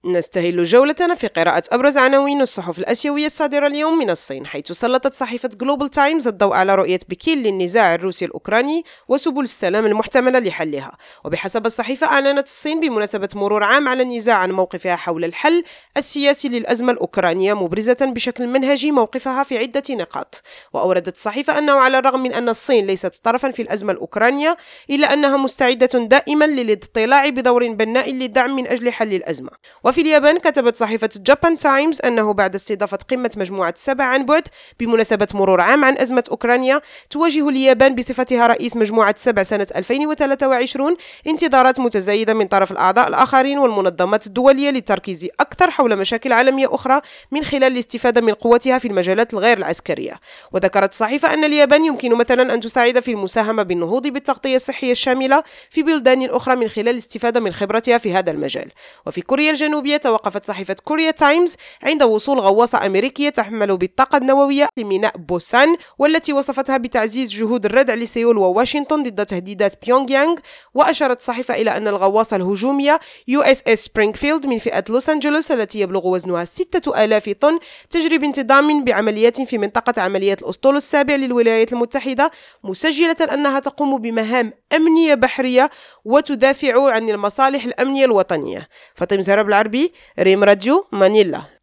نستهل جولتنا في قراءة أبرز عناوين الصحف الآسيوية الصادرة اليوم من الصين، حيث سلطت صحيفة جلوبال تايمز الضوء على رؤية بكين للنزاع الروسي الأوكراني وسبل السلام المحتملة لحلها. وبحسب الصحيفة، أعلنت الصين بمناسبة مرور عام على النزاع عن موقفها حول الحل السياسي للأزمة الأوكرانية، مبرزة بشكل منهجي موقفها في عدة نقاط. وأوردت الصحيفة أنه على الرغم من أن الصين ليست طرفا في الأزمة الأوكرانية، إلا أنها مستعدة دائما للاضطلاع بدور بناء للدعم من أجل حل الأزمة. وفي اليابان، كتبت صحيفة جابان تايمز أنه بعد استضافة قمة مجموعة 7 عن بعد بمناسبة مرور عام عن أزمة أوكرانيا، تواجه اليابان بصفتها رئيس مجموعة 7 سنة 2023 انتظارات متزايدة من طرف الأعضاء الآخرين والمنظمات الدولية للتركيز أكثر حول مشاكل عالمية أخرى من خلال الاستفادة من قوتها في المجالات الغير العسكرية. وذكرت الصحيفة أن اليابان يمكن مثلا أن تساعد في المساهمة بالنهوض بالتغطية الصحية الشاملة في بلدان أخرى من خلال الاستفادة من خبرتها في هذا المجال. وفي كوريا الجنوبية، توقفت صحيفة كوريا تايمز عند وصول غواصة أمريكية تحمل بالطاقة النووية لميناء بوسان، والتي وصفتها بتعزيز جهود الردع لسيول وواشنطن ضد تهديدات بيونغ يانغ. وأشارت الصحيفة إلى أن الغواصة الهجومية USS سبرينغفيلد من فئة لوس أنجلوس، التي يبلغ وزنها 6000 طن، تجري بانتظام بعمليات في منطقة عمليات الأسطول السابع للولايات المتحدة، مسجلة أنها تقوم بمهام أمنية بحرية وتدافع عن المصالح الأمنية الوطنية. فاطمة زهرة بالعربي، ريم راديو، مانيلا.